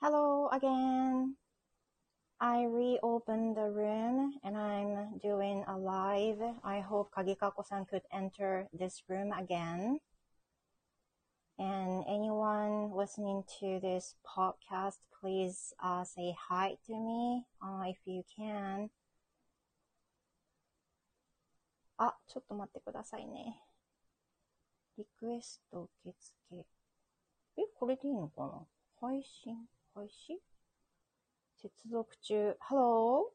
Hello again. I reopened the room and I'm doing a live. I hope Kagikako-san could enter this room again. And anyone listening to this podcast, please say hi to me if you can. あ、ちょっと待ってくださいね。リクエスト受付。これでいいのかな？配信開始？接続中。Hello?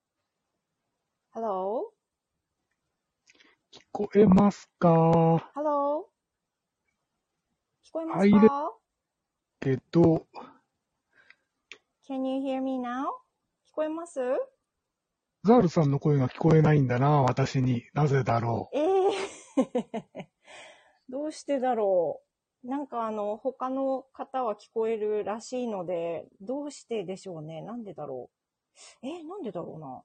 Hello? 聞こえますか？ Hello? 聞こえますか？ けど、 Can you hear me now? 聞こえます？ ザールさんの声が聞こえないんだな、私に。なぜだろう。 どうしてだろう。なんか他の方は聞こえるらしいので、どうしてでしょうね。なんでだろう。なんでだろうな。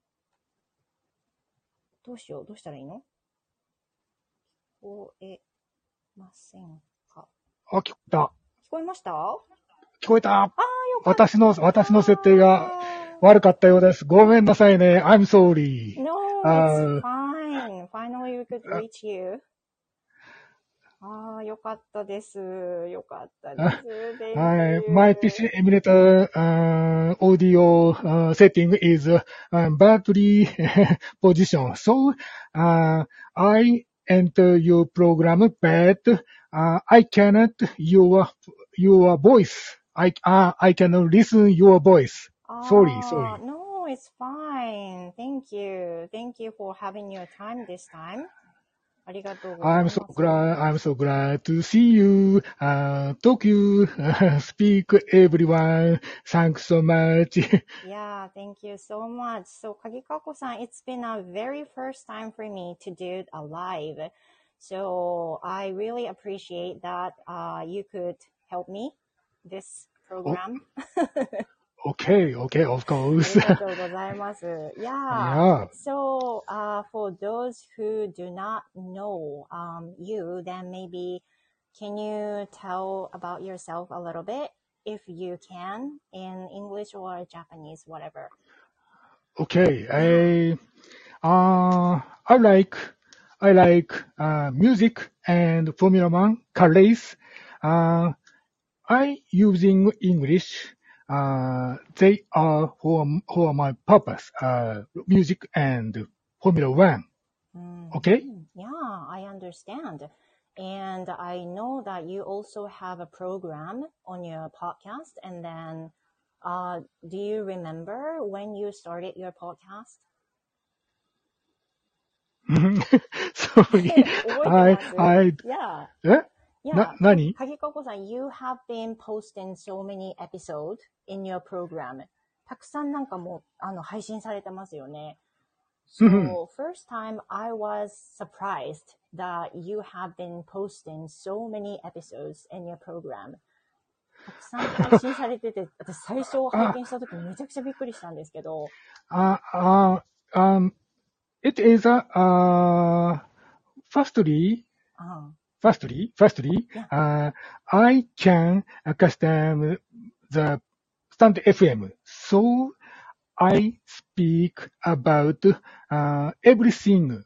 どうしよう。どうしたらいいの？聞こえませんか？ あ、聞こえた。 聞こえました？ 聞こえた。 よかった。 私の設定が悪かったようです。ごめんなさいね。I'm sorry. No, it's fine. Finally we could reach you. よかったです。よかったです。 My PC emulator audio setting is badly positioned. So I enter your program, but I cannot your voice. I cannot listen your voice. Sorry. No, it's fine. Thank you. Thank you for having your time this time. ありがとうございます。 I'm so glad to see you, talk you, speak everyone. Thanks so much. Yeah, thank you so much. So, Kagikako-san, it's been a very first time for me to do a live. So, I really appreciate that you could help me this program. Okay, of course. ありがとうございます。Yeah. So, for those who do not know you, then maybe can you tell about yourself a little bit, if you can, in English or Japanese, whatever. Okay, I like music and Formula One car race. I using English. They are for my purpose. Music and Formula One. Okay? Yeah, I understand. And I know that you also have a program on your podcast. And then, do you remember when you started your podcast? Sorry. Yeah. 何？ Kagikoko-san, you have been posting so many episodes in your program. たくさんなんかもう、配信されてますよね。So, first time I was surprised that you have been posting so many episodes in your program. たくさん配信されてて、私最初拝見したときめちゃくちゃびっくりしたんですけど。 It is firstly, I can custom the stand FM. So I speak about everything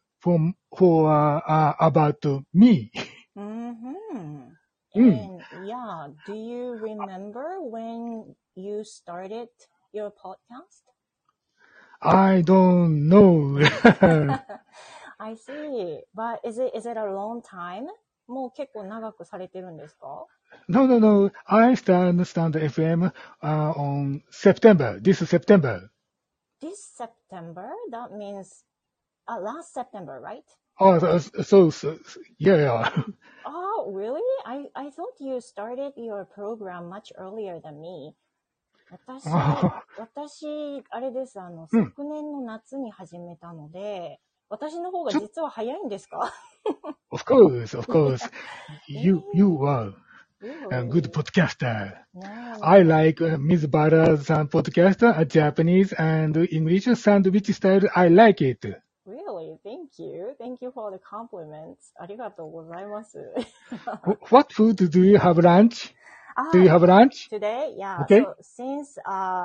about me. And yeah, do you remember when you started your podcast? I don't know. I see. But is it a long time? もう結構長くされてるんですか？ No. I stand FM on September. This September. This September? That means last September, right? So yeah. Oh, really? I thought you started your program much earlier than me. 私、あれです。昨年の夏に始めたので、私の方が実は早いんですか？ Of course. You are a good podcaster. I like Ms. Bara's podcast, Japanese and English sandwich style. I like it. Really? Thank you. Thank you for the compliments. ありがとうございます。 What food do you have lunch? Do you have lunch? Today? Yeah. Okay. So since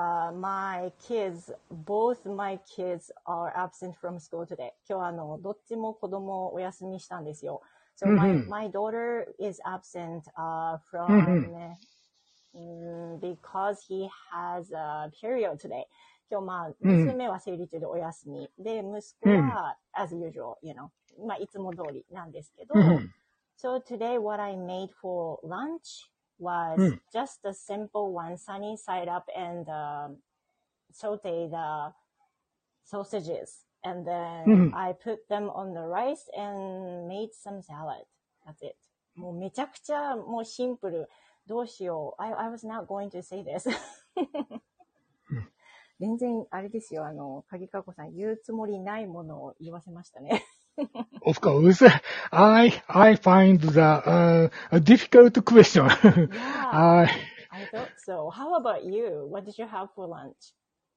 both my kids are absent from school today. 今日どっちも子供お休みしたんですよ。So my daughter is absent from because he has a period today. 今日娘は生理中でお休み。で、息子はas usual, you know. いつも通りなんですけど。So today what I made for lunch was just a simple one, sunny side up and saute the sausages. And then I put them on the rice and made some salad. That's it. もうめちゃくちゃもうシンプル。どうしよう。I was not going to say this. 全然あれですよ。鍵かこさん言うつもりないものを言わせましたね。 Of course, I find the difficult question. Yeah, I thought so. How about you? What did you have for lunch?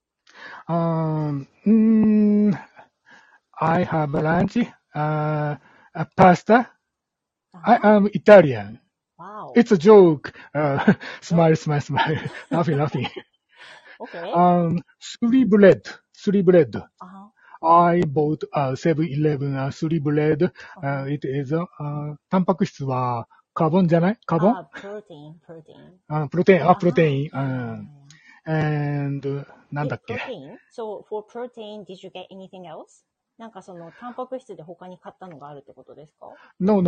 I have lunch, pasta. I am Italian. Wow. It's a joke. Smile. Laughing. Okay. 3 bread. Uh-huh. I bought 7-Eleven 3 bread. It is タンパク質はカーボンじゃない？カーボン？ Protein. プロテイン。and なんだっけ？ Protein? So for protein, did you get anything else? なんかタンパク質で他に買ったのがあるってことですか？ No.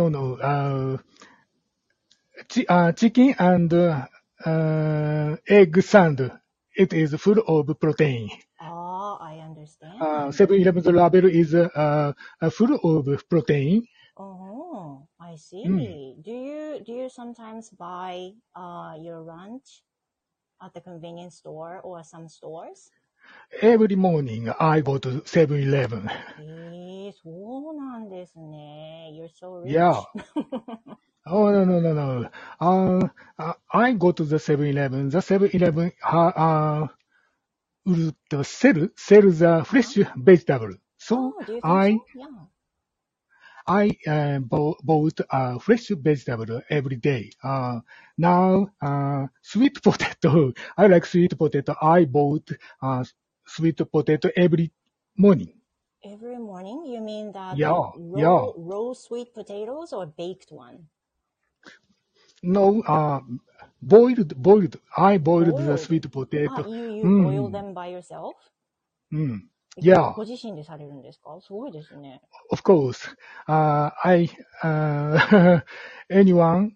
Chicken and egg sand. It is full of protein. I understand. 7-Eleven's label is full of protein. Oh, I see. Do you sometimes buy your lunch at the convenience store or some stores? Every morning I go to 7-Eleven. そうなんですね。You're so rich. Yeah. Oh, no. I go to the 7-Eleven. The 7-Eleven sell the fresh vegetable. So do you think I so? Yeah. bought fresh vegetable every day. Now, sweet potato. I like sweet potato. I bought sweet potato every morning. Every morning? You mean that raw sweet potatoes or baked one? No, boiled. I boiled the sweet potato. You boil them by yourself? Yeah. ご自身でされるんですか？すごいですね。 Of course. Anyone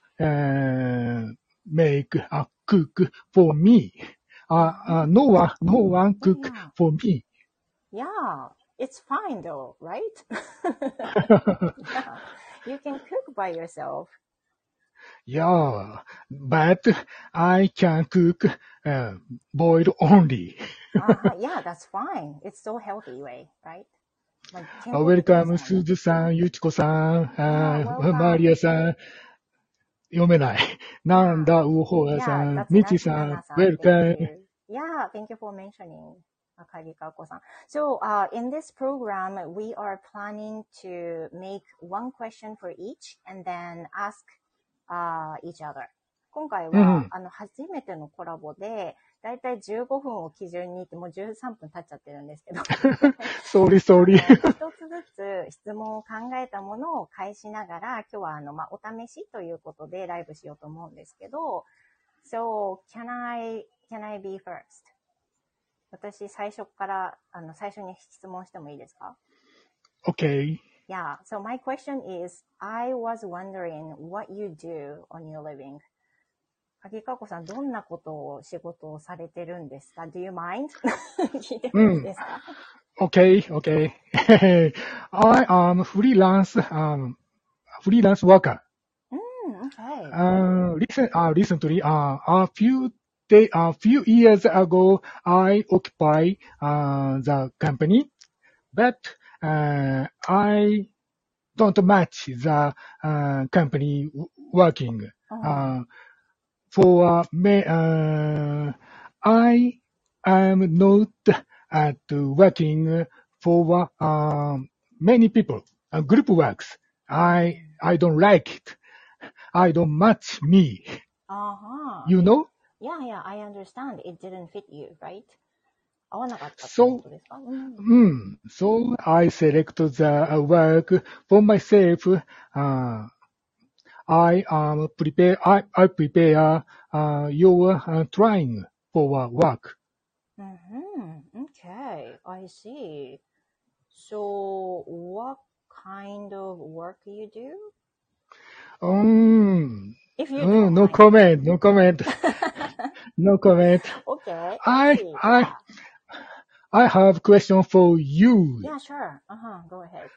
cook for me. No one cook for me. Yeah, it's fine though, right? Yeah. You can cook by yourself. Yeah, but I can cook boiled only. Yeah, that's fine. It's so healthy way, right? Welcome, すずさん、ゆちこさん、マリアさん、読めない。なんだ、うほうさん、みちさん、Welcome. Yeah, thank you for mentioning. So, in this program, we are planning to make one question for each and then ask each other. 今回は、初めてのコラボで、だいたい15分を基準にって、もう13分経っちゃってるんですけど。 Sorry. 一つずつ質問を考えたものを返しながら、今日はお試しということでライブしようと思うんですけど、So, can I be first? 私、最初に質問してもいいですか？ Okay. Yeah, so my question is, I was wondering what you do on your living. 鍵かこさん、どんな仕事をされてるんですか？ Do you mind? 聞いてもいいですか？ Okay. I am freelance worker. Okay. Recently, a few years ago, I occupy the company, but I don't match the company working. I am not working for many people. Group works. I don't like it. I don't match me. Uh-huh. You know? Yeah, yeah, I understand. It didn't fit you, right? 合わなかったって So, ことですか？ so I select the work for myself. I prepare your trying for work. Okay, I see. So, what kind of work you do? If you don't No mind. comment, no comment, no comment. Okay, I I, see. I, Yeah. I have question for you. Yeah, sure. Go ahead.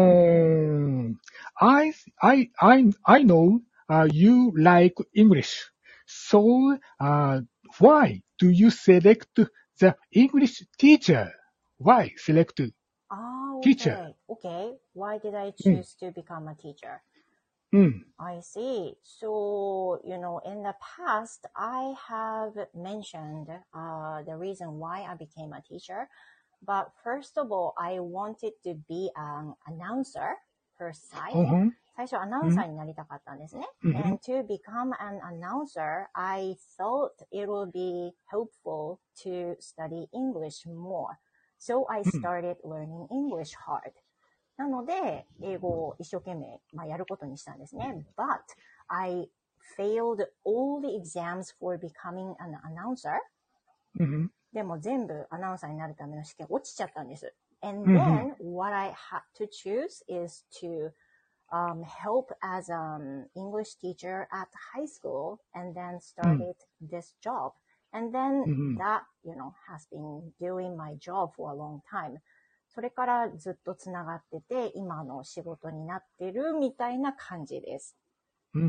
I know you like English. So, why do you select the English teacher? Why select teacher? Okay. Okay. Why did I うん、 choose to become a teacher? うん、 I see. So, in the past, I have mentioned the reason why I became a teacher. But first of all, I wanted to be an announcer per se. うん、 最初アナウンサーうん、 になりたかったんですね。 うん、 And to become an announcer, I thought it would be helpful to study English more. So I うん、 started learning English hard. なので、英語を一生懸命、やることにしたんですね。But I failed all the exams for becoming an announcer. うん、 でも全部アナウンサーになるための試験落ちちゃったんです。And うん、 then what I had to choose is to help as an English teacher at high school and then うん、 started this job. And then うん、 that, has been doing my job for a long time. それからずっとつながってて、今の仕事になってるみたいな感じです。 うん。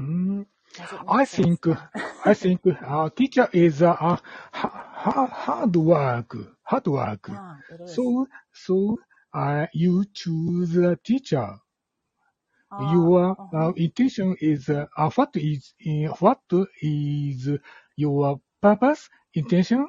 Does it make I sense? think teacher is hard work. Yeah, it is. So you choose a teacher. Uh, Your uh-huh. intention is what is your purpose intention?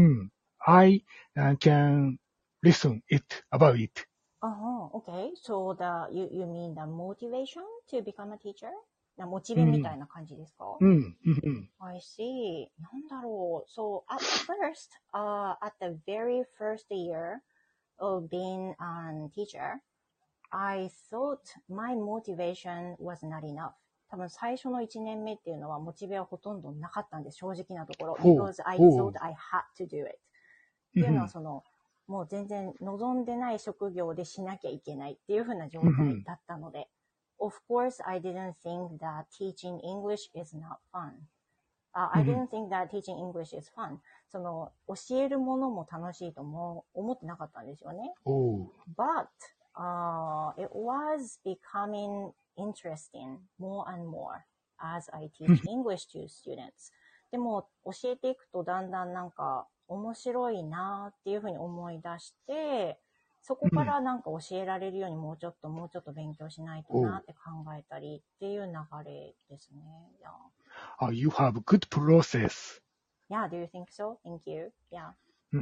I can listen it about it. Okay. So you mean the motivation to become a teacher? モチベみたいうん、 な感じですか？ うん、うん、 I see. なんだろう。So at first, at the very first year of being a teacher, I thought my motivation was not enough. 多分最初の1年目っていうのはモチベはほとんどなかったんです。正直なところ。Because I thought I had to do it. っていうのはもう全然望んでない職業でしなきゃいけないっていう風な状態だったので。Of course, I didn't think that teaching English is not fun. I didn't think that teaching English is fun. 教えるものも楽しいとも思ってなかったんですよね。But, it was becoming interesting more and more as I teach English to students. でも、教えていくとだんだんなんか面白いなっていうふうに思い出して、そこからなんか教えられるようにもうちょっと勉強しないとなって考えたりっていう流れですね。 Yeah. You have good process. Yeah, do you think so? Thank you. Yeah.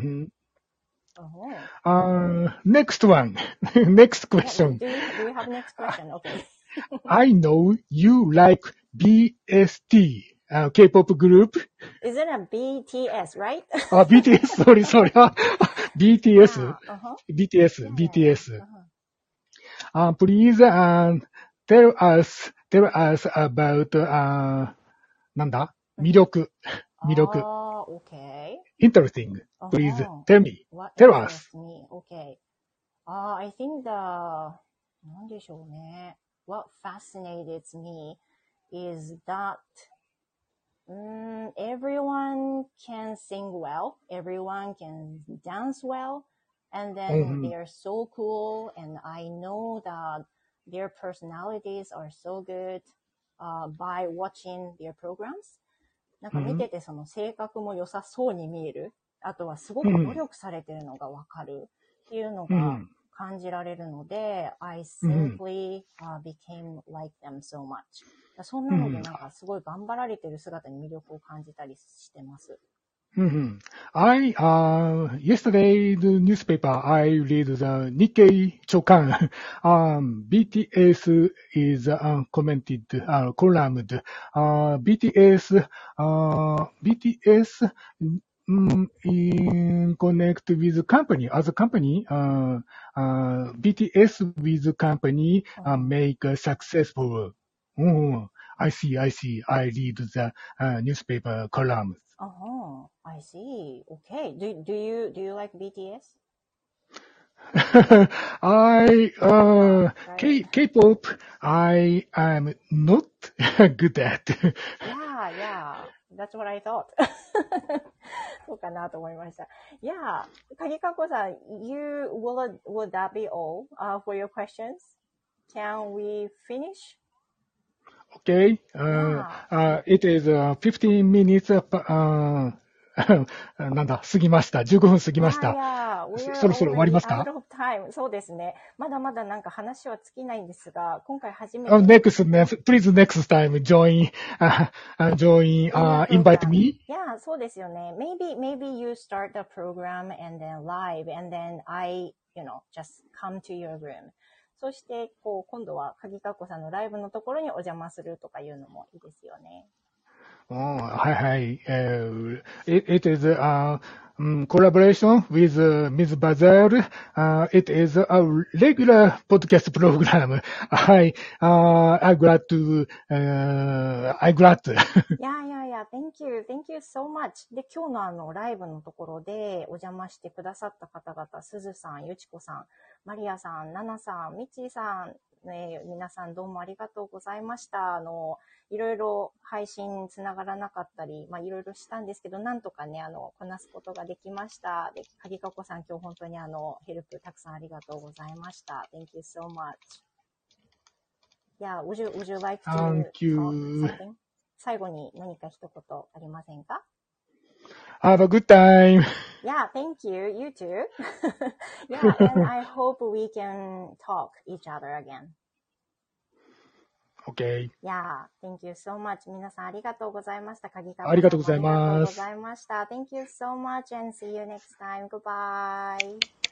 Next one. Next question. Yeah, do you have next question? Okay. I know you like BST, K-pop group. Is it a BTS, right? BTS, sorry. BTS. BTS. Please tell us about なんだ魅力。 Okay. Interesting. Please tell me. What Tell us. interests me? Okay. I think なんでしょうね。What fascinated me is that everyone can sing well, everyone can dance well, and then they are so cool, and I know that their personalities are so good by watching their programs. なんか見てて性格も良さそうに見える。あとはすごく努力されてるのがわかるっていうのが感じられるので、I simply became like them so much. そんなのでなんかすごい頑張られてる姿に魅力を感じたりしてます。 Mhm. Yesterday, the newspaper, I read the Nikkei Chokan. BTS is commented, columned. BTS in connect with company, as a company, BTS with company make successful. I see. I read the newspaper columns. Oh, I see. Okay. Do you like BTS? K-pop, I am not good at. Yeah. That's what I thought. そうかなと思いました。Yeah. 鍵かこさん、would that be all for your questions? Can we finish? Okay. Yeah. It is 15 minutes, なんだ、過ぎました。15分過ぎました。 We are そろそろ終わります already か out of time. そうですね。まだまだなんか話は尽きないんですが、今回初めて。 Please next time join, invite me. Yeah, そうですよね。Maybe you start the program and then live and then I, just come to your room. そして、今度は鍵かっこさんのライブのところにお邪魔するとかいうのもいいですよね。 はいはい。It is collaboration with Ms. Bazar. It is a regular podcast program. I glad to. Yeah. Thank you so much. で、今日のライブのところでお邪魔してくださった方々、すずさん、ゆちこさん、マリアさん、ナナさん、ミッチーさん、皆さんどうもありがとうございました。いろいろ配信つながらなかったり、いろいろしたんですけど、なんとかね、こなすことができました。で、鍵かこさん、今日本当にヘルプたくさんありがとうございました。Thank you so much. Yeah, would you like to Thank you. talk something? 最後に何か一言ありませんか？ Have a good time. Yeah, thank you. You too. Yeah, and I hope we can talk each other again. Okay. Yeah, thank you so much. 皆さんありがとうございました。鍵川さんありがとうございます。 ありがとうございました。Thank you so much and see you next time. Goodbye.